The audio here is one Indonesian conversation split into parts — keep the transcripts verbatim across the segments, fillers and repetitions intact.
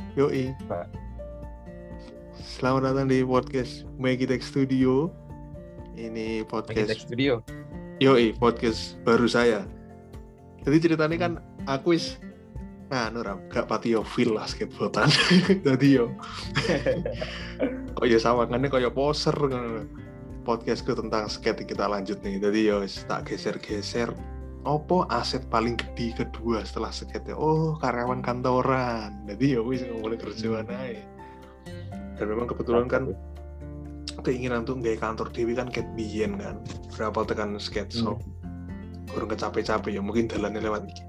Yoi. Pak. Selamat datang di podcast Magitech Studio. Ini podcast Magitech Studio. Yoi, podcast baru saya. Jadi ceritanya kan aku is nah nuram gak pati yo feel lah skateboardan. Dadi yo. Kok ya sawangannya kayak poser ngono. Podcastku tentang skate kita lanjut nih. Jadi yo tak geser-geser. Opo aset paling gede kedua setelah skate? Oh, karyawan kantoran. Jadi ya wis ngomongin kerjaan aja. Dan memang kebetulan kan keinginan tuh nggak kantor dewi kan ket biyen kan. Berapa tekan skate shop. Hmm. Kurang kecapek-capek ya mungkin dalannya lewat iki.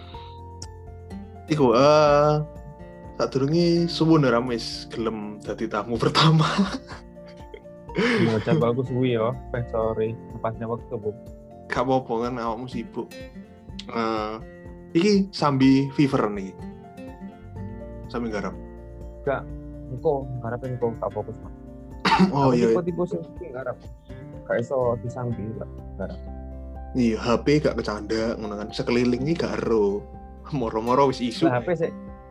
Iku eh uh, tak durungi suwun ora wis gelem dadi tamu pertama. Iya, coba aku suwi ya. Eh sorry, pasnya waktu, Bu. Gak apa-apa kan awakmu sibuk. Uh, iki sambi fever nih. Sambi garap. Gak, engko garap engko gak fokus, Mas. Oh iya. Tipe-tipe sing garap. Gak iso disambi garap. Iya, H P gak kecanda ngono kan. Sekeliling iki gak ero. Moro-moro wis isu. Lah H P sih.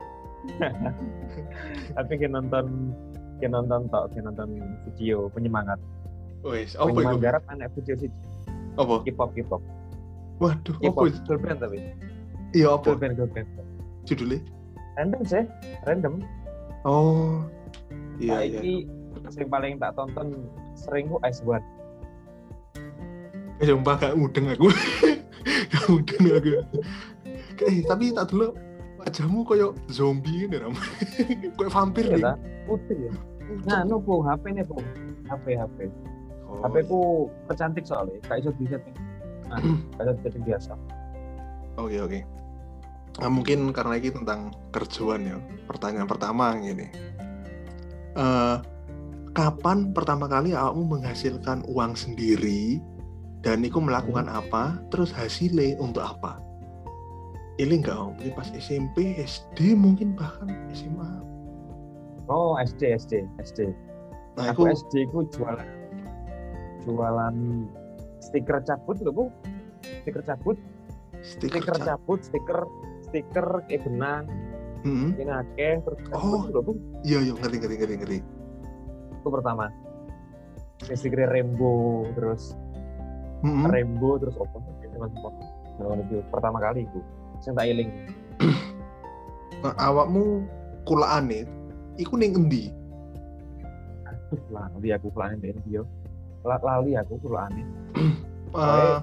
Tapi ki nonton ki nonton tok, ki nonton video penyemangat. Wis, apa iku? Garap anak video sih. Apa? K-pop, K-pop. Waduh, K-pop. apa? Girl band tapi. Iya, apa? Girl band, girl band. Judulnya? Random sih, random. Oh, iya, nah, iya. Ini yang paling tak tonton sering ku Ice One. Eh, sumpah gak mudeng aku. Gak mudeng aku. Eh, tapi tak dulu wajahmu kayak zombie ini, Ram. Kayak vampir nih. Iya, putih ya. Nah, no, Bung, H P nih, Bung. H P, H P. Oh, H P ku kecantik soalnya, kayak iso di-setting. Nah, kayak setting biasa. Oke, oke. Nah, mungkin karena ini tentang kerjaan ya. Pertanyaan pertama gini. Uh, kapan pertama kali awakmu menghasilkan uang sendiri dan itu melakukan hmm. apa? Terus hasilnya untuk apa? Ini enggak, mungkin pas S M P, S D, mungkin bahkan S M A. Oh, S D, S D, S D. Nah, aku, aku S D ku jualan jualan stiker cabut lho, Bu. Stiker cabut. Stiker, stiker cabut, stiker stiker kayak benang. Hmm. Ini akeh terus oh. lho, Bu. Iya, iya, ngerti ngerti ngerti ngerti. Itu pertama. Stiker rainbow terus hmm. rainbow terus opo teman-teman. Nah, itu pertama kali Bu. Sing tak eling. Nah, awakmu kulaane iku ning endi? Aduh, lali aku kulaane ndek endi yo. Lali aku kulaane. Uh,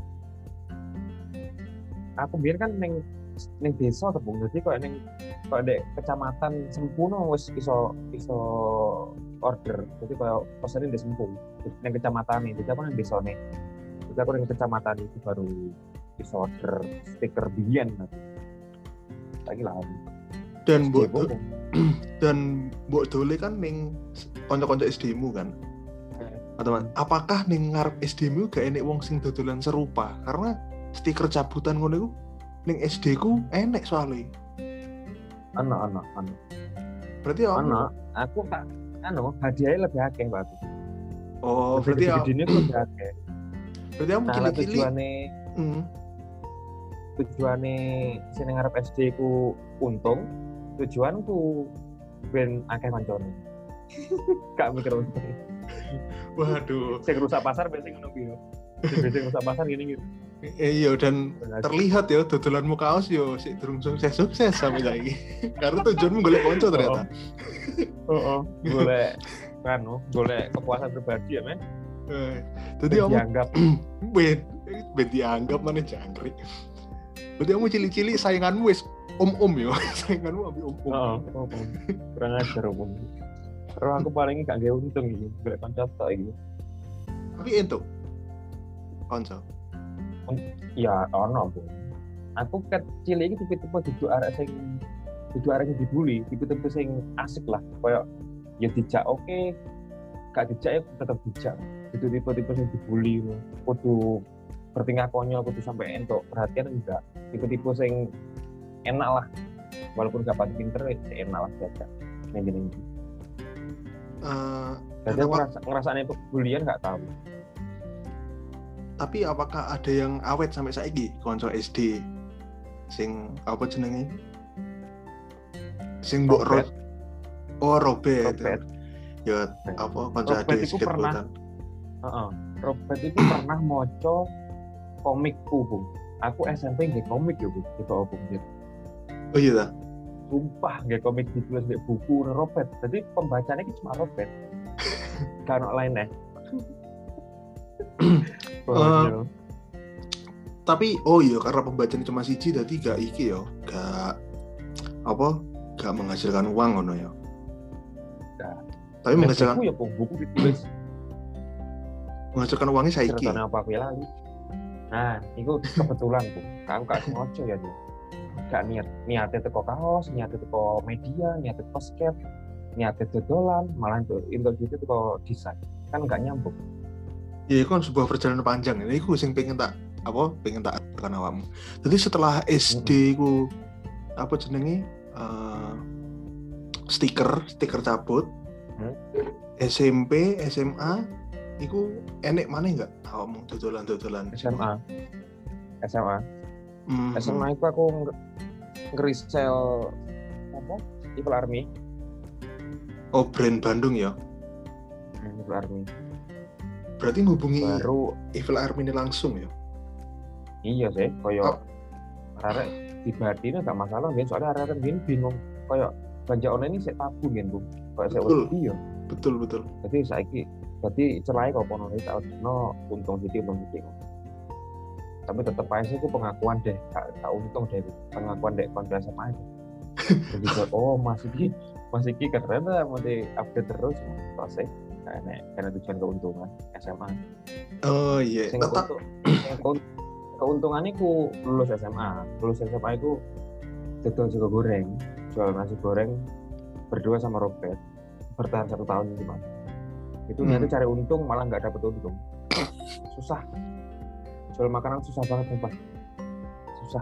aku biar kan neng neng desa tepung jadi kok neng kok dek kecamatan Sempuno wis iso iso order jadi kayak pesenin di Sempung neng kecamatan ini jadi aku neng desa nih jadi aku neng kecamatan itu baru iso order stiker biyen lagi lah dan buat dan buat dole kan neng konco-konco S D-mu kan teman, apakah ning ngarep S D-mu gak enek wong sing dodolan serupa? Karena stiker cabutan ngono iku ning S D-ku enek soalnya. Ana ana ana. Berarti ana, aku tak anu hadiahnya lebih akeh, Pak. Oh, lebih berarti gedene ku lebih akeh. Berarti kamu kili-kili tujuane hmm. tujuane sing ngarep S D ku untung, tujuanku ben akeh kancane. Gak mikir untung. Waduh. Saya rusak pasar biasanya ngono piye. Biasanya rusak pasar gini gitu. Eh, iya dan terlihat ya dodolanmu kaos yo sik durung sukses-sukses sampai saiki. Karena tujuanmu golek kanca ternyata. Heeh. Golek kan, golek kepuasan pribadi ya, Men. Eh, jadi kamu dianggap ben ben dianggap mana jangkrik. Berarti kamu cili-cili sainganmu wis om-om yo. Sainganmu ambil om-om. Heeh, om-om. Kurang ajar om. Terus aku paling gak gawe untung iki, golek kanca tok iki. Tapi entuk kanca. Ya ono, Bu. Aku kecil iki tipe-tipe duduk arek sing duduk arek sing dibully, tipe-tipe sing asik lah, koyo ya dijak oke, okay. Gak dijak ya tetep dijak. Itu tipe-tipe sing dibully, kudu bertingkah konyol, kudu sampai entuk perhatian enggak. Tipe-tipe sing enak lah. Walaupun gak pati pinter, ya enak lah diajak. Ning-ning. Uh, Jadi aku ngerasa, ngerasanya pembulian nggak tahu. Tapi apakah ada yang awet sampai saiki konco S D sing apa jenenge sing mbok Robert. ro- oh Robert. Robert. Ya apa kanca Robert ade iku pernah skateboardan. Heeh. Robert itu pernah maca komikku, Bung. Aku S M P nggih komik ya, Bung. Itu apa, Bung? Oh iya ta. Sumpah nggih komik ditulis di buku Robert. Jadi pembacanya itu cuma Robert. Kan lain eh. Uh, tapi oh iya karena pembacaan cuma siji dadi gak iki ya, gak apa? Gak menghasilkan uang ngono ya. Nah, Tapi menghasilkan buku ya, Bung. Buku ditulis menghasilkan uangnya saiki. ceritanya apa aku lali. Nah, itu kebetulan, Bung. Aku gak sengaja ya, dia. Gak niat, niatnya teko kaos, niatnya teko media, niatnya teko skate, niatnya dodolan, malah itu untuk gitu teko desain. Kan gak nyambung. Ya itu kan sebuah perjalanan panjang. Ini aku sing pengen tak apa? Pengen tak tekan awakmu. Jadi setelah S D ku apa jenenge? Uh, stiker, stiker cabut. Hmm? S M P, S M A iku enek maneh enggak awakmu dodolan-dodolan? S M A. S M A. Mm-hmm. S M A itu aku nge-resell apa? Evil Army. Oh, brand Bandung ya. Evil Army. Berarti ngubungi Baru Evil Army ini langsung ya? iya sih, koyo Oh. arek dibati ini gak masalah kan, soalnya arek gini bingung koyo belanja online ini saya tabu kan, Bu. Koyo saya Betul. wedi ya. Betul, betul. Jadi saiki jadi celai kok ono iki tak ono untung sithik untung sithik. Tapi tetep aja sih aku pengakuan deh, tak, tak untung deh pengakuan deh konten S M A. Jadi kok oh masih iki masih iki keren lah, masih update terus selesai. Karena karena tujuan keuntungan S M A. Oh iya. Sing Tetap keuntung- sing keun- keuntungannya ku lulus S M A. Lulus S M A itu dodol sego goreng, jual nasi goreng berdua sama Robert, bertahan satu tahun gimana. Itu Hmm. niatnya cari untung malah nggak dapet untung. Susah. Jual makanan susah banget sumpah. Susah.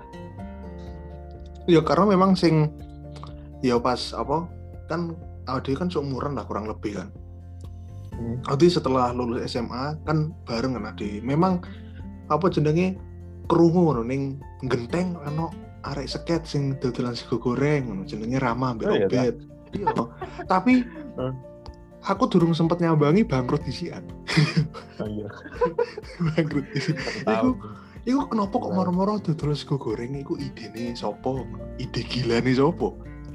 ya karena memang sing ya pas apa kan Ade kan seumuran lah kurang lebih kan. Hmm. Ade setelah lulus S M A kan bareng kan Ade. Memang apa jenenge krungu ngono ning genteng ana arek seket sing dodolan sego goreng ngono jenenge Rama mbek Oh, iya, Robert. Iya. Tapi Hmm. aku durung sempet nyambangi bangkrut disian. Oh iya. bangkrut disian. Satu Iku tahun. iku kenapa kok Nah. moro-moro dodol sego goreng iku idene sapa? Ide gilane sapa?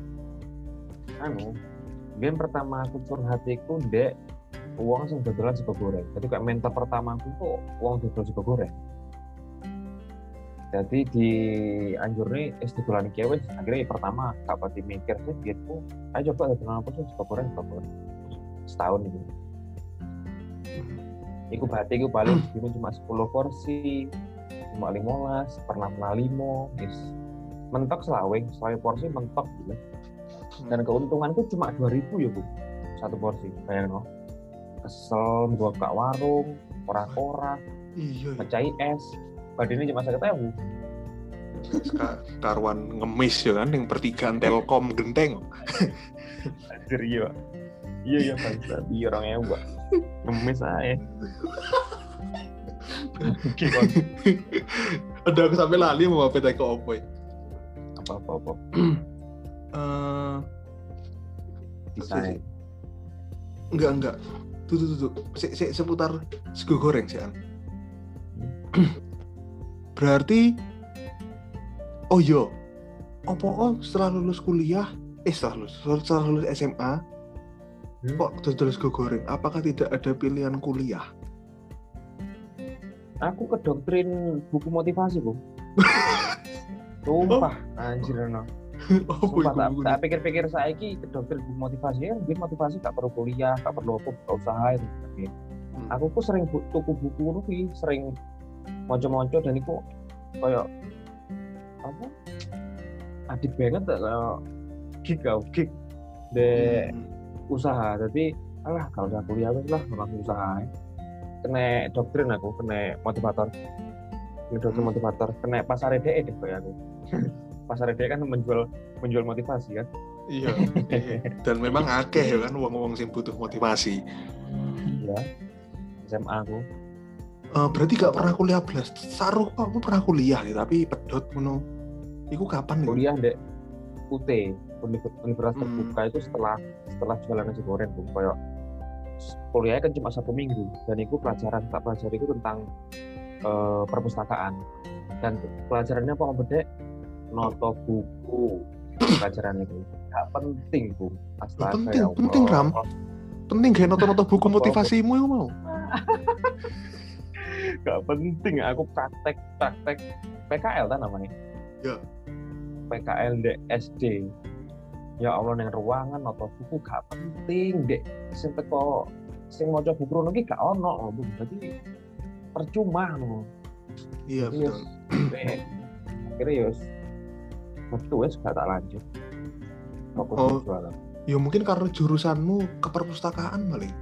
Anu, game pertama aku curhat iku ndek uang sing dodolan sego goreng. Jadi kayak mentor pertama aku kok uang dodol sego goreng. Jadi di anjur nih es dodolan iki wis akhirnya pertama gak pati mikir sih gitu. Ayo coba dodolan apa sih sego goreng sego goreng. Setahun itu. Iku berarti iku paling dino cuma sepuluh porsi, cuma lima belas, pernah pernah lima, guys. Mentok selawe, selawe porsi mentok gitu. Dan keuntunganku cuma dua ribu ya, Bu. Satu porsi. Bayangin loh. Kesel gua ke warung, ora-ora, Iya. mecahi es. Badannya cuma seket ribu. Ka- karuan ngemis ya kan yang pertigaan Telkom genteng. Anjir iya. Iya ya bangsa. Iya orangnya gua. Ngemis aja. Udah aku sampai lali mau apa teko opo. Apa-apa apa. Eh Desain. enggak enggak. Tuh tuh tuh. tuh. Se, se, seputar sego goreng sih An. Berarti oh iya. Apa oh setelah lulus kuliah eh setelah lulus setelah lulus S M A Hmm? kok dodol sego goreng? Apakah tidak ada pilihan kuliah? Aku ke doktrin buku motivasi, Bu. Sumpah, anjir no. Oh, Sumpah, tak, buku-buku tak pikir-pikir saiki ke doktrin buku motivasi ya, biar motivasi tak perlu kuliah, tak perlu apa, buka usaha itu. Hmm. Aku ku sering bu- tuku buku ngono kuwi, sering monco-monco dan iku koyo apa? Adik banget tak koyo gig kau gig de Hmm. usaha. Jadi alah kalau udah kuliah wis lah langsung usaha. Kena doktrin aku, kena motivator. Kena doktrin Hmm. motivator, kena pasar D E deh kayak aku. Pasar D E kan menjual menjual motivasi kan. Iya. Dan memang akeh ya kan wong-wong sing butuh motivasi. Iya. S M A aku. Eh, berarti gak pernah kuliah belas. Saruh kamu pernah kuliah ya, tapi pedot ngono. Iku kapan nih? Kuliah dek U T. universitas Hmm. terbuka itu setelah setelah jualan nasi goreng Bung. Kayak kuliahnya kan cuma satu minggu dan itu pelajaran tak pelajari itu tentang eh, perpustakaan dan pelajarannya apa bedek noto buku pelajarannya itu nggak penting Bu Loh, astaga penting, ya penting Ram. Allah Penting gak noto-noto buku Apa-apa. motivasimu itu mau. nggak penting aku praktek praktek P K L kan namanya Ya. P K L di S D ya Allah yang ruangan noto buku gak penting dek sing teko sing maca buku ngono iki gak ono Bu jadi percuma no Iya Jadi, betul. Eh, akhirnya ya waktu wes gak tak lanjut fokus Oh. di jualan Ya mungkin karena jurusanmu ke perpustakaan paling.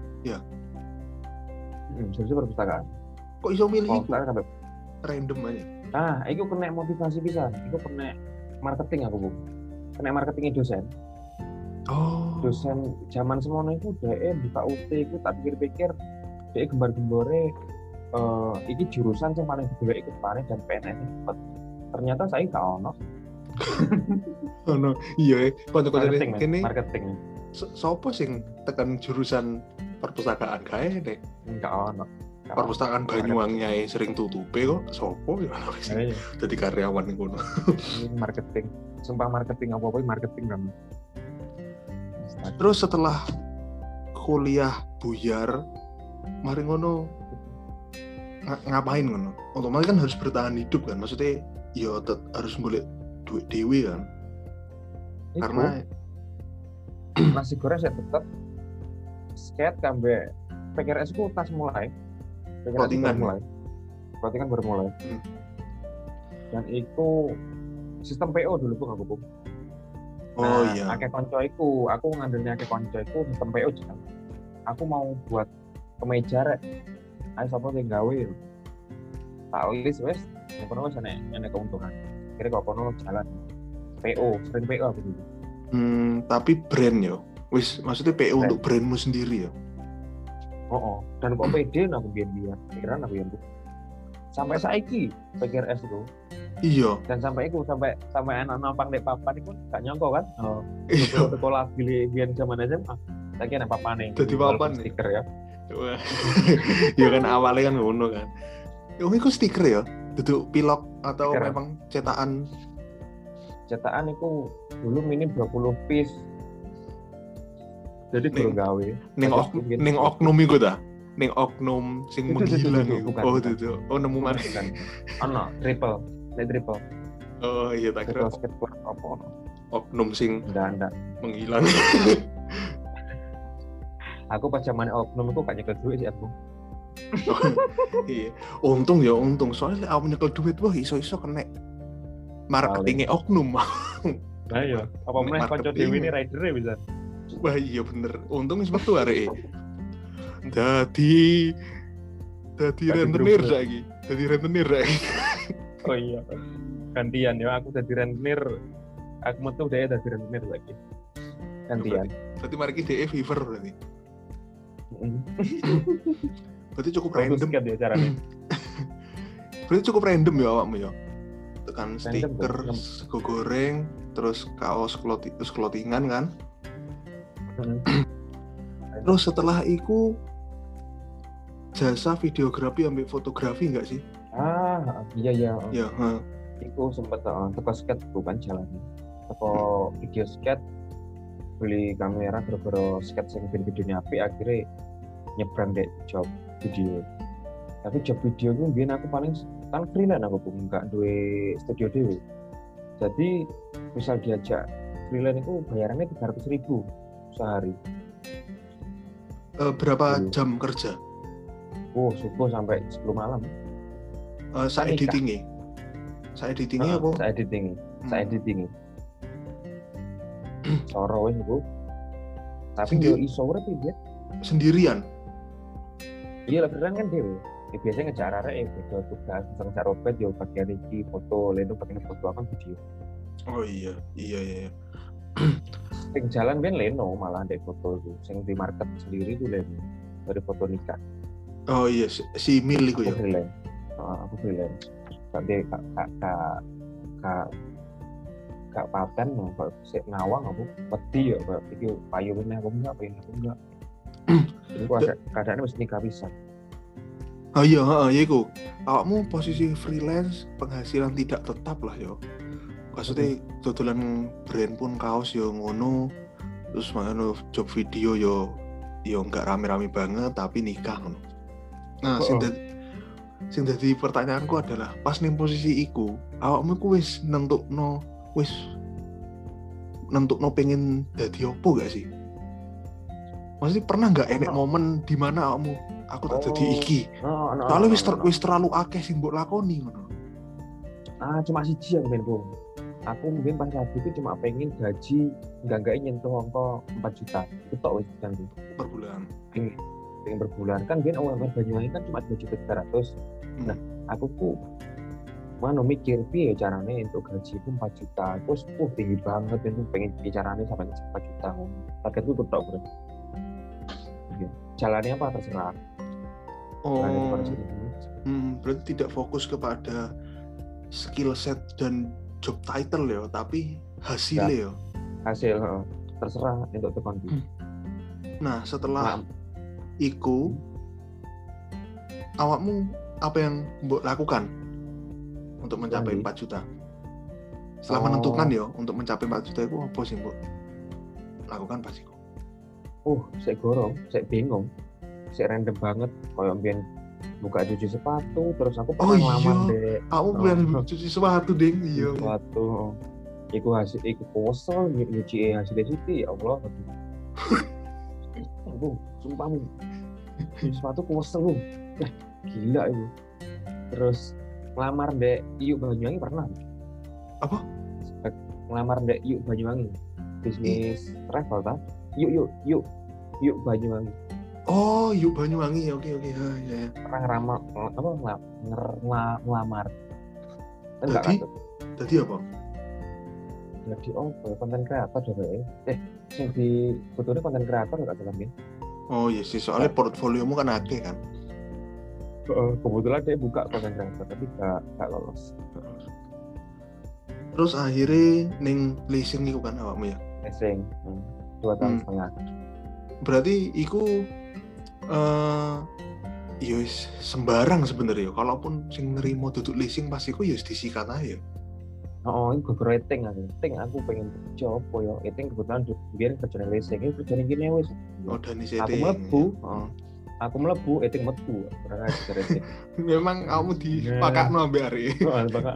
hmm, jadi perpustakaan Kok iso milih oh iku? sekarang sampai Random aja. ah itu kena motivasi bisa itu kena marketing aku Bu kena marketingnya dosen Oh. dosen zaman semono itu D E buka U T itu tak pikir-pikir D E gembar-gembore eh iki jurusan yang paling digoleki ikut panen dan P N S cepet ternyata saya gak ono Oh no. Iya, kanca-kanca marketing men, kene marketing so- sopo sing tekan jurusan perpustakaan kae nek enggak ono Nggak ono. perpustakaan Banyuwangi ae sering tutupe kok sopo ya ana Nah, sing iya. dadi karyawan ning kono. Ini marketing sumpah marketing apa apa marketing kan Terus setelah kuliah buyar mari ngono ng- ngapain ngono? Otomatis kan harus bertahan hidup kan. Maksudnya ya tet- harus golek duit dewe kan. Iku, Karena nasi goreng saya tetap skate kambe P K R S ku tas mulai P K R S ku Clothingan. baru mulai clothingan baru mulai Hmm. dan itu sistem P O dulu Bung aku Bung. oh Nah, iya. akeh konco iku, aku ngandelnya akeh konco iku sistem P O jalan. Aku mau buat kemeja rek. Ayo sapa sing gawe. Tak list wes, yang kono wes enek enek keuntungan. Kira kok kono jalan. P O, sering P O aku dulu. Hmm, tapi brand yo. Wis maksudnya P O Brand. untuk brandmu sendiri ya. Oh, oh. Dan kok pede aku biyen-biyen. Pikiran aku biyen. Sampai saiki P K R S itu. Iya, Dan sampai itu sampai sampai anak-anak pang dek papan itu gak nyongko kan. Oh. iya. Sekolah pilih biyen zaman S M A. Lagi anak papane. Dadi papan. Stiker ya. Wah. Ya kan awalnya kan ngono kan. Oh, itu stiker ya? Duduk pilok atau Stiker. memang cetakan? Cetakan itu dulu minim dua puluh piece. Jadi Ning- guru gawe. Ning Tapi ok, mungkin- ning oknum iku ta? Ning oknum sing Itu, itu, itu, menghilang itu, iku. bukan, Oh, bukan. itu. Oh, nemu mana? Bukan. Ono triple, Nek triple, Oh, iya tak kira triple skate club apa ono. oknum sing Enggak, enggak. menghilang. Aku pas zaman oknum itu gak nyekel duit sih aku. Iya. Untung ya, untung. Soalnya aku nyekel duit wah iso-iso kena marketingnya oknum. Nah iya, apa Nek meneh kanca marketing. dhewe ini rider bisa. Wah iya bener. Untung wis metu areke. Dadi dadi Dadi rentenir grup. saiki. Dadi rentenir saiki. Oh iya. Gantian ya, aku jadi rentenir. Aku metu dhewe dadi rentenir lagi. Gantian. Berarti mari ki D E fever berarti. Heeh. Berarti cukup Random random. skate ya caranya. Berarti cukup random ya awakmu ya. Tekan Random, stiker, Bro. sego goreng, terus kaos clothi- terus clothingan kan. Heeh. Terus setelah itu jasa videografi ambil fotografi enggak sih? Ah, iya iya. Ya, ha. Iku sempet uh, teko skate bukan jalan. Teko video skate beli kamera gara-gara skate sing video-videonya apik akhirnya nyebrang dek job video. Tapi job video itu biyen aku paling kan freelance aku pun enggak duwe studio dhewe. Jadi misal diajak freelance itu bayarannya tiga ratus ribu sehari. Eh, berapa Iya. jam kerja? Oh, subuh sampai sepuluh malam. Eh, saya Nikah. editingnya. Saya editingnya Heeh, apa? Saya editing, saya Hmm. editing. Soro wis iku. Tapi Sendiri? yo iso urip ya. Sendirian. Iya lah freelance kan dhewe. Ya, biasanya ngejar arek ya beda tugas, misal ngejar robot yo bagian iki foto, leno bagian foto apa video. Oh iya, iya iya. iya. Sing jalan ben leno malah ndek foto itu. Sing di market sendiri itu leno dari foto nikah. Oh iya, si, si Mil iku Aku ya. freelance. Heeh, aku freelance. Kak de kak kak kak kak gak paten no, kok sik ngawang aku wedi ya kok iki payu meneh aku enggak pengen aku enggak. Jadi aku ada keadaannya mesti nikah pisan. Oh iya, heeh, ya iku. Awakmu posisi freelance, penghasilan tidak tetap lah yo. Maksudnya dodolan brand pun kaos yo ngono. Terus makanya job video yo yo enggak rame-rame banget tapi nikah ngono. Nah, sing dadi sing dadi pertanyaanku adalah pas ning posisi iku, awakmu ku wis nentukno wis nentukno pengen dadi opo gak sih? Maksudnya pernah nggak enek momen di mana awakmu aku tak jadi Oh, iki? no, no, Soalnya no, wis ter, no. wis terlalu akeh sing mbok lakoni ngono. Ah, cuma siji aku main bro. Aku mungkin pas lagi itu cuma pengen gaji enggak-enggak nyentuh angka empat juta. Itu tok wis kan tuh. Per bulan. Pengen, pengen per bulan kan biar U M R Banyuwangi kan cuma dua juta tiga ratus. Nah, aku ku mana mikir piye carane untuk gaji itu empat juta. Terus uh tinggi banget itu pengen carane sampai empat juta. Targetku itu tok bro. Jalannya apa terserah. Oh, Jalannya hmm, berarti tidak fokus kepada skill set dan job title ya, tapi hasilnya ya. Hasil uh, terserah untuk tekan. Hmm. Nah, setelah nah, iku awakmu apa yang mbok lakukan untuk mencapai Lagi. empat juta? Setelah Oh. menentukan ya untuk mencapai empat juta itu apa sih mbok lakukan pas iku? Uh, saya gorong, saya bingung, saya random banget. Kayak mbiyen buka cuci sepatu, terus aku Oh pernah iya, ngelamar deh. aku bilang cuci sepatu ding, iya. Sepatu, iku hasil, iku kosong, nyuci hasilnya Siti, ya Allah. Aku sumpah mu, cuci sepatu kosong lu, eh gila itu. Terus ngelamar deh, Iyu Banyuwangi pernah. Apa? Ngelamar deh Iyu Banyuwangi, bisnis travel tak? Yuk yuk yuk yuk Banyuwangi. Oh, yuk Banyuwangi, oke oke, ya ya. Pernah ngeramal apa ngelamar ngelamar. Enggak Tadi, kan? tadi apa? Jadi oh konten kreator juga ya. Eh, sing di fotonya konten kreator enggak dalam ya? Oh iya sih, soalnya portfoliomu kan akeh kan. Uh, kebetulan dia buka konten kreator tapi enggak enggak lolos. Terus akhirnya ning leasing iku kan awakmu ya? Leasing. Hmm. Dua tahun Hmm. setengah. Berarti iku eh ya wis sembarang sebenarnya. Kalaupun sing nerimo duduk leasing pas iku ya wis disikat aja. Oh, ini gue rating aku. Rating aku pengen kerja apa ya? Rating kebetulan biar kerja leasing. Ini kerja gini wis. Oh, dan Aku setting. mlebu. Oh. Aku mlebu, rating metu. Ora rating. Memang kamu dipakakno ambek arek. Oh, bakal.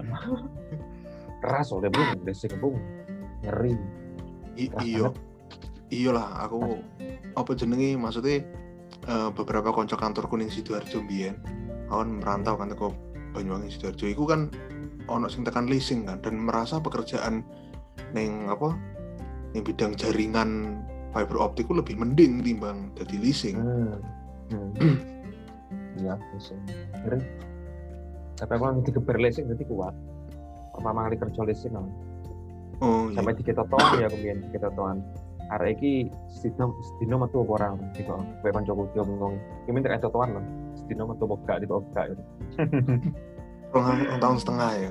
Keras oleh bung, leasing bung. Ngeri. Iya. Iya lah, aku apa jenenge maksudnya uh, beberapa konco kantorku ning Sidoarjo mbiyen. Aku kan merantau kan teko Banyuwangi Sidoarjo. Iku kan ono sing tekan leasing kan dan merasa pekerjaan ning apa ning bidang jaringan fiber optik ku lebih mending timbang dadi leasing. Hmm. Hmm. Iya, leasing. Ngeri. Tapi aku nanti keber leasing berarti kuat. Pertama kali kerja leasing kan. Oh iya. Sampai di ketotoan ya kemudian di ketotoan. Arek iki sedino sedino metu apa ora gitu. Kowe kancaku dia ngomong, "Iki minta ketotoan lho. Sedino metu apa gak gitu gak." Rong tahun setengah ya.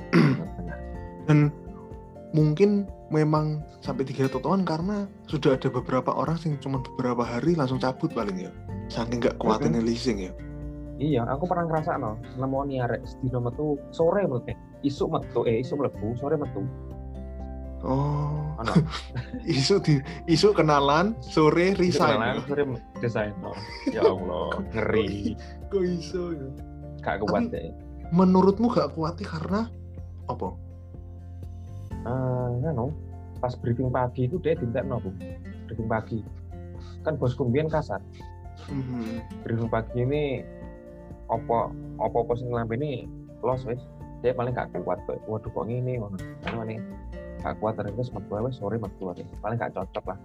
Dan mungkin memang sampai tiga totoan karena sudah ada beberapa orang yang cuma beberapa hari langsung cabut paling ya. Saking gak kuatin Mm-hmm. leasing ya. Iya, aku pernah ngerasa no, nemoni arek sedino metu sore menurut eh isuk metu eh isuk mlebu sore metu. Oh. Ono. isu di isu kenalan, sore resign. Kenalan, sore desain. No. Ya Allah, ngeri. Kok iso ya? Gak kuat deh. Menurutmu gak kuatnya karena apa? Ah, uh, no. Pas briefing pagi itu dia dintekno, Bu. Briefing pagi. Kan bosku mbiyen kasar. Mm-hmm. Briefing pagi ini apa apa-apa sing nglambene los wis. Dia paling gak kuat kok. Waduh kok ngene ngono. Anu nih. Gak kuat terus metu wis sore metu ae. Paling gak cocok lah.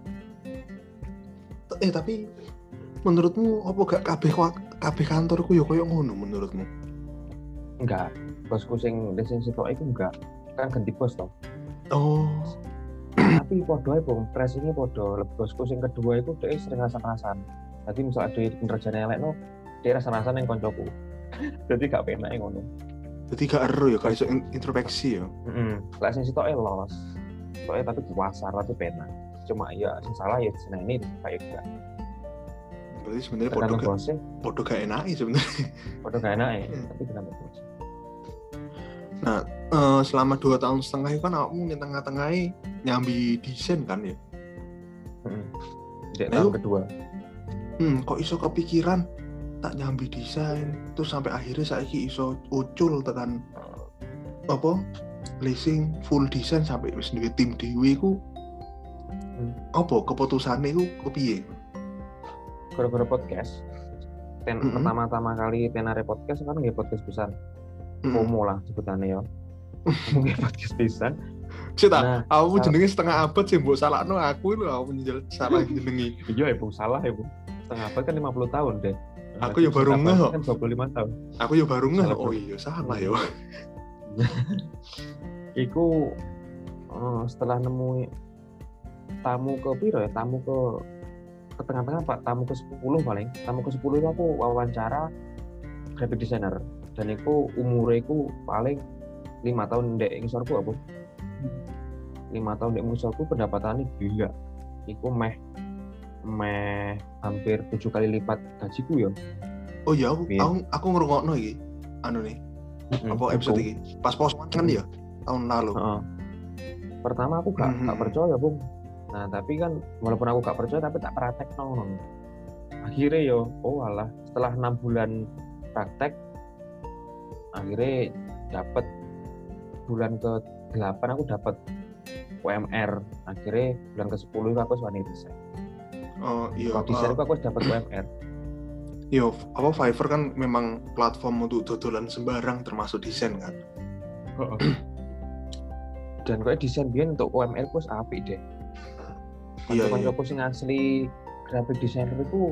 Eh tapi menurutmu apa gak kabeh kabeh kantorku ya koyo ngono menurutmu? Enggak. Bosku sing sing sitok iku enggak. Kan ganti bos toh. Oh. Tapi podo ae bong, pressing-e podo. Bosku sing kedua itu dhek sering rasa-rasan. Dadi misal ada kinerjane elek no, dhek rasa-rasan ning koncoku. Dadi gak penak ngono. Jadi gak eru ya, gak iso introspeksi ya. Heeh. Lek sing sitoke los. soalnya tapi puasa tapi pena cuma ya salah ya di ini kayak enggak berarti sebenarnya podo tergantung gak bosnya podo gak enak sebenarnya podo gak enak ya tapi tergantung bosnya. Nah uh, selama dua tahun setengah itu kan kamu di tengah-tengahnya nyambi desain kan ya hmm. Di tahun kedua hmm, kok iso kepikiran tak nyambi desain terus sampai akhirnya saiki iso ucul tekan apa leasing full desain sampai wis duwe tim dhewe iku hmm. apa keputusane iku kepiye? Gara-gara podcast. Ten mm-hmm. pertama-tama kali tenare podcast kan nggih podcast pisan. Mm-hmm. Promo lah sebutannya ya. Nggih podcast pisan. Cita, nah, aku salah. Jenenge setengah abad sih mbok salahno aku lho aku menjel salah jenengi. Iya ya Bu, salah ya Bu. Setengah abad kan lima puluh tahun deh. Aku ya baru ngeh kok. Kan dua puluh lima tahun. Aku ya baru ngeh. Oh iya salah ya. Iku uh, setelah nemu tamu ke piro ya, tamu ke ke tengah-tengah Pak, tamu ke sepuluh paling. Tamu ke sepuluh itu aku wawancara graphic designer dan iku umure iku paling lima tahun ndek ngisorku apa? lima tahun ndek ngisorku pendapatannya gila. Iku meh meh hampir tujuh kali lipat gajiku ya. Oh iya, aku aku, aku ngrungokno iki. Anu nih. Mm-hmm. Apa episode iki? Pas posan kan ya tahun lalu. Uh-huh. Pertama aku gak mm-hmm. gak percaya, Bung. Nah, tapi kan walaupun aku gak percaya tapi tak praktek nong. Akhirnya yo, oh alah, setelah enam bulan praktek akhirnya dapat bulan ke delapan aku dapat U M R. Akhirnya bulan ke sepuluh aku wani desain. Oh iya. Kalau desain uh, aku dapat U M R. Yo, apa Fiverr kan memang platform untuk dodolan sembarang termasuk desain kan. Uh-uh. Dan kayak desain biyen untuk U M R ku wis apik deh. Iya, iya. Kanca-kancaku sing asli graphic designer itu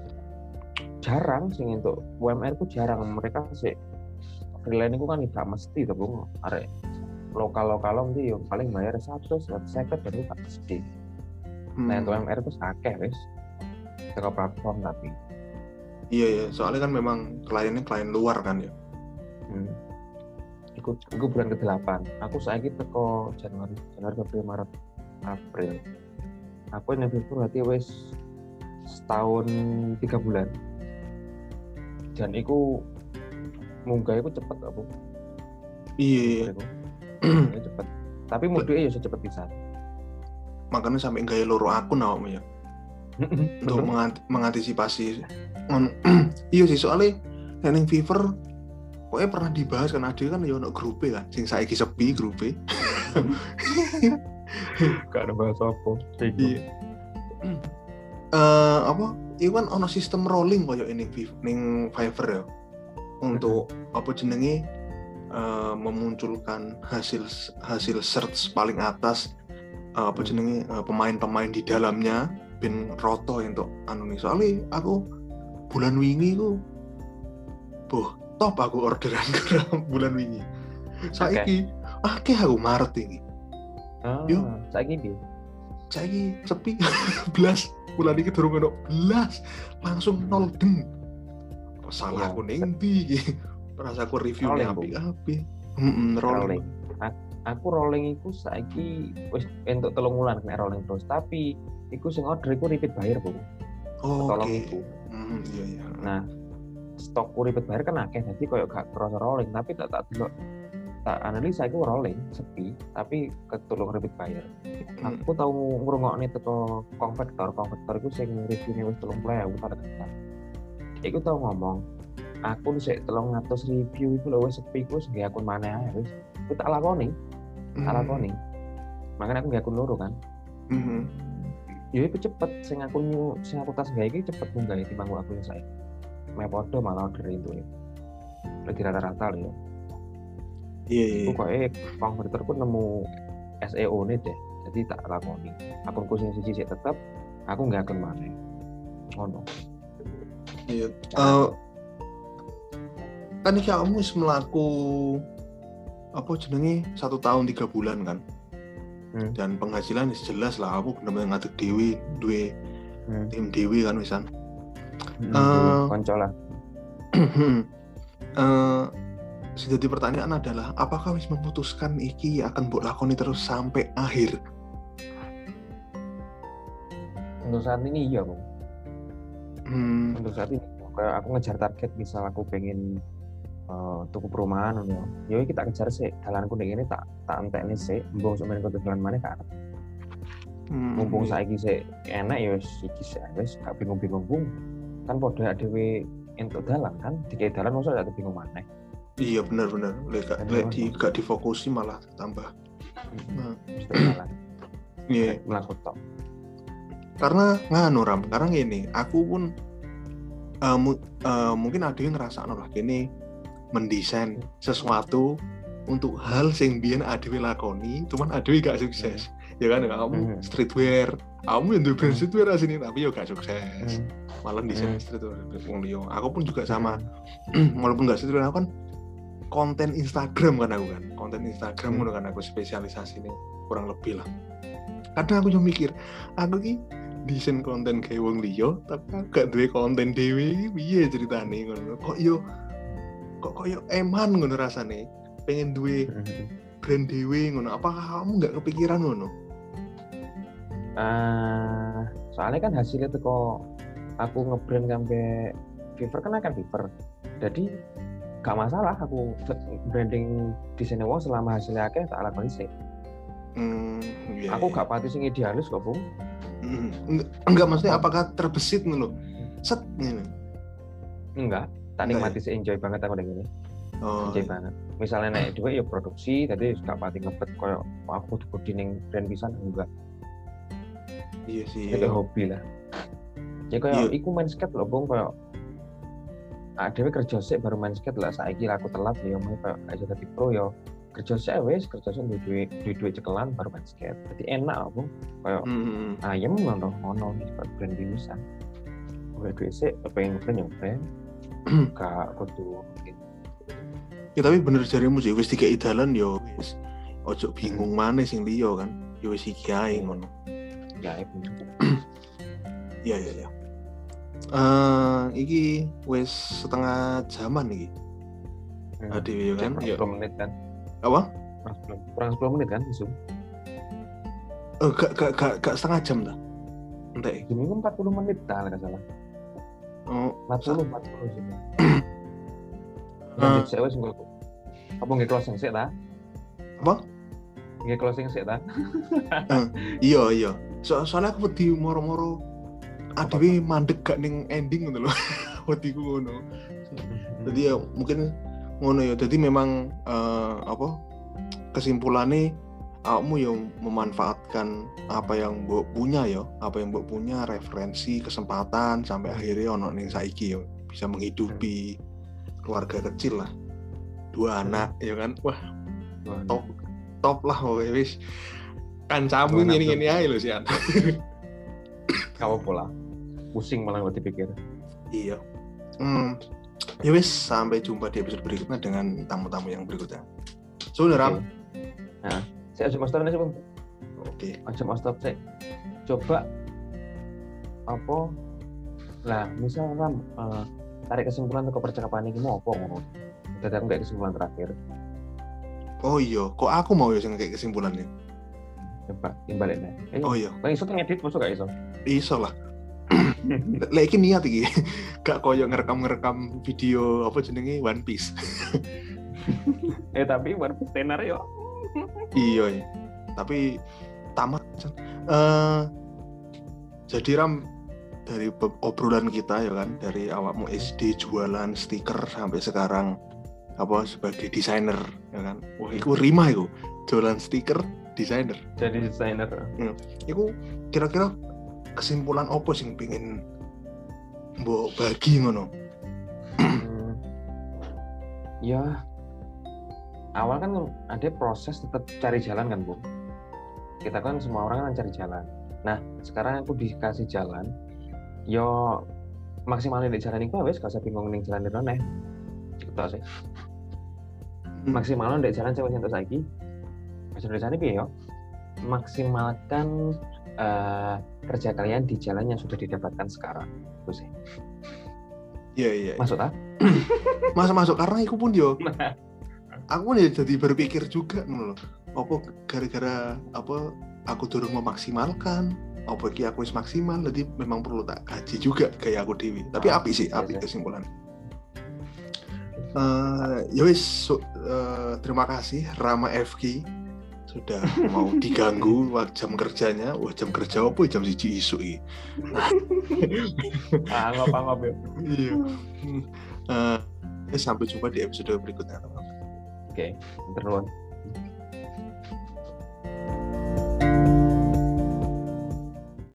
jarang sing untuk U M R ku jarang. Mereka sih freelance itu kan tidak mesti tuh Bung. Arek lokal-lokal mesti yo paling bayar seratus, seratus lima puluh dan itu gak mesti. Hmm. Nah, untuk U M R itu akeh wis. Teko platform tapi. Iya ya, soalnya kan memang kliennya klien luar kan ya. Hmm. Ikut iku bulan ke delapan. Aku saiki teko Januari, Januari, Februari, Maret, April. Aku yang berarti wis setahun tiga bulan dan itu munggah itu cepet aku iya cepet tapi mudiknya ya cepet bisa makanya sampai gaya loro akun awakmu ya untuk mengant- mengantisipasi iya sih soalnya yang Fiverr pokoknya pernah dibahas kan ada kan ya ono grupe kan sing saiki sepi grupe gak ada bahas apa iya uh, apa itu kan ono sistem rolling koyo ini ning Fiverr ya untuk apa jenenge uh, memunculkan hasil hasil search paling atas uh, apa jenenge uh, pemain-pemain di dalamnya ben roto untuk anu nih soalnya aku bulan wingi ku boh top aku orderan bulan wingi saiki akeh aku Maret ini. Oh, yo, saiki piye? Saiki sepi belas bulan iki durung ono belas langsung nol deng. Salah aku ning ndi iki? Rasaku review-nya apik-apik. Heeh, rolling. Aku rolling iku saiki wis entuk telung wulan nek rolling terus, tapi iku sing order iku repeat buyer, Bu. Oh, tolong okay. Iku. Hmm, iya iya. Nah, stokku repeat buyer kan akeh, jadi koyo gak kerasa rolling, tapi tak tak delok tak analisa aku rolling sepi tapi ketulung repeat buyer. Hmm. Aku tahu ngrungokne teko konvektor, konvektor iku sing review-ne wis tiga puluh ribu targetan. Iku tau ngomong, akun sik telung atus review iku lho wis sepi ku sing akun maneh ae wis. Aku tak lakoni. Tak lakoni. Makanya aku nggak akun loro kan. Heeh. Ya iku cepet sing akun sing aku tas gawe iki cepet munggah timbang aku yang saya. Meh podo malah order itu ya. Lagi rata-rata lho ya. Iya, iya. Aku kayak konverter pun nemu S E O nih deh, jadi tak lakoni. Akunku sing siji sik tetep, aku nggak akun mana. Ngono. Iya. Uh, kan iki kamu wis mlaku apa jenenge satu tahun tiga bulan kan. Hmm. Dan penghasilan jelas lah aku bener-bener ngatur dewi, duwe hmm. tim dewi kan wisan. Hmm, uh, konco lah. uh, Jadi pertanyaan adalah apakah wis memutuskan iki akan mbok lakoni terus sampai akhir Untuk saat ini iya bang. Hmm. Untuk saat ini kayak aku ngejar target, misal aku pengen uh, tuku perumahan ya. Ya kita kejar sih. Dalanku ning ini tak tak entekne sih. Mbung sampeyan kudu dalan maneh kan. Hmm, Mumpung iya. saiki sik enak ya wis iki sik wis gak bingung-bingung bung. Kan padha dhewe entuk dalan kan, dikei dalan mosok gak bingung maneh. Iya benar-benar. Lek gak lek di gak difokusi malah tambah. Nah, mesti dalan. Iya. Mlaku tok. Karena nganu Ram, karena gini, aku pun uh, mu, uh, mungkin ada yang ngerasa lah gini mendesain sesuatu untuk hal sing biyen adewe lakoni, cuman adewe gak sukses. Ya kan, kamu streetwear, kamu yang duwe brand streetwear asini tapi yo gak sukses. Malah desain streetwear wong liya. Aku pun juga sama. Walaupun gak streetwear, aku kan konten Instagram kan aku kan. Konten Instagram ngono kan aku spesialisasi nih kurang lebih lah. Kadang aku yo mikir, aku ki desain konten kayak wong liya tapi gak duwe konten dhewe iki piye ceritane ngono. Kok yo kok koyo eman ngono rasane. Pengen duwe brand dhewe ngono. Apakah kamu gak kepikiran ngono? Uh, soalnya kan hasilnya tuh kok aku ngebrand sampai Fiverr kan akan Fiverr. Jadi gak masalah aku branding desainnya wong selama hasilnya akeh tak lakoni sih. Hmm, yeah, aku yeah. gak pati sing idealis kok, Bung. Hmm, enggak, enggak maksudnya apakah terbesit nih lo? Set nih. Enggak, tak nikmati sih, enjoy banget aku dengan ini. Oh, enjoy iya. banget. Misalnya naik dua ya produksi, tadi gak pati ngebet koyo aku kudu ning brand pisan enggak. Iya sih. Itu hobi lah. Ya koyo iku main skate lho, Bung, koyo adewe kerja sik baru main skate lah, saiki aku telat ya mau koyo aja dadi pro ya. Kerja sik wis, kerja sik duwe duwe cekelan baru main skate. Dadi enak, Bung. Koyo hmm. ayem ngono ngono iki brand pisan. Gue duwe sik pengen brand yang brand. Gak kudu gitu. Ya tapi bener jarimu sih wis dikei dalan yo wis ojo bingung maneh sing liya kan. Ya wis iki ae ngono. Ya itu. Iya iya iya. Eh iki wis setengah jaman iki. Hmm. Adewe kan ya sepuluh menit kan. Apa? Kurang sepuluh menit kan Zoom. Oh, gak gak gak gak setengah jam dah. Entek. Zoom itu empat puluh menit dah enggak salah. Oh, empat puluh empat puluh Zoom. Lanjut saya wis engko. Apa nge closing sik ta? Apa? Nge closing sik ta? uh, iya iya. So, soalnya aku wedi moro-moro adewe mandek gak ning ending ngono lho. Wediku ngono. Jadi ya mungkin ngono ya. Jadi memang uh, apa kesimpulannya kamu yang memanfaatkan apa yang mbok punya ya, apa yang mbok punya, referensi, kesempatan sampai akhirnya ono ning saiki ya bisa menghidupi keluarga kecil lah. Dua anak ya kan. Wah. Top top lah pokoknya wis. Kancamu ngene-ngene ae lho sian. Kamu pola. Pusing malah waktu dipikir. Iya. Hmm. Ya wis, sampai jumpa di episode berikutnya dengan tamu-tamu yang berikutnya. So, okay. Ram. Nah, saya aja master nih, Bang. Oke. Aja master saya. Coba apa? Lah, misal Ram uh, tarik kesimpulan untuk percakapan ini mau apa ngono. Udah aku kayak kesimpulan terakhir. Oh iya, kok aku mau ya sing kayak kesimpulannya. Coba timbalik deh. Eh, oh iya. Lah iso ngedit masuk gak iso? Iso lah. Lah iki niat iki. Gak koyo ngerekam-ngerekam video apa jenenge One Piece. eh tapi One Piece tenar yo. Iya, iya. Tapi tamat. Uh, jadi Ram dari obrolan kita ya kan, dari awakmu S D jualan stiker sampai sekarang apa sebagai desainer ya kan. Wah, iku rima iku. Jualan stiker, desainer. Jadi desainer. Hmm. Iku kira-kira kesimpulan apa sing pengen mbok bagi ngono? hmm. Ya awal kan ada proses tetap cari jalan kan, Bu. Kita kan semua orang kan cari jalan. Nah, sekarang aku dikasih jalan. Yo maksimalnya di jalan itu wes gak usah bingung ning jalan rene. Gitu sih. Maksimalnya di jalan cewek entuk saiki. Masih tulisannya piye yo? Maksimalkan uh, kerja kalian di jalan yang sudah didapatkan sekarang. Itu sih. Iya, iya. Masuk tak? Masuk masuk karena aku pun yo. Aku pun ya jadi berpikir juga ngono loh. Apa gara-gara apa aku durung memaksimalkan apa iki aku wis maksimal, jadi memang perlu tak kaji juga gaya aku dewi. Tapi Ah, apik sih, iya, apik iya. kesimpulan. Uh, ya wis, so, uh, terima kasih Rama F K sudah mau diganggu jam kerjanya. Wah, jam kerja apa jam siji isuk iki. Ah, ngapa-ngapa ya. Iya. Uh, sampai jumpa di episode berikutnya, teman-teman. Oke, terus.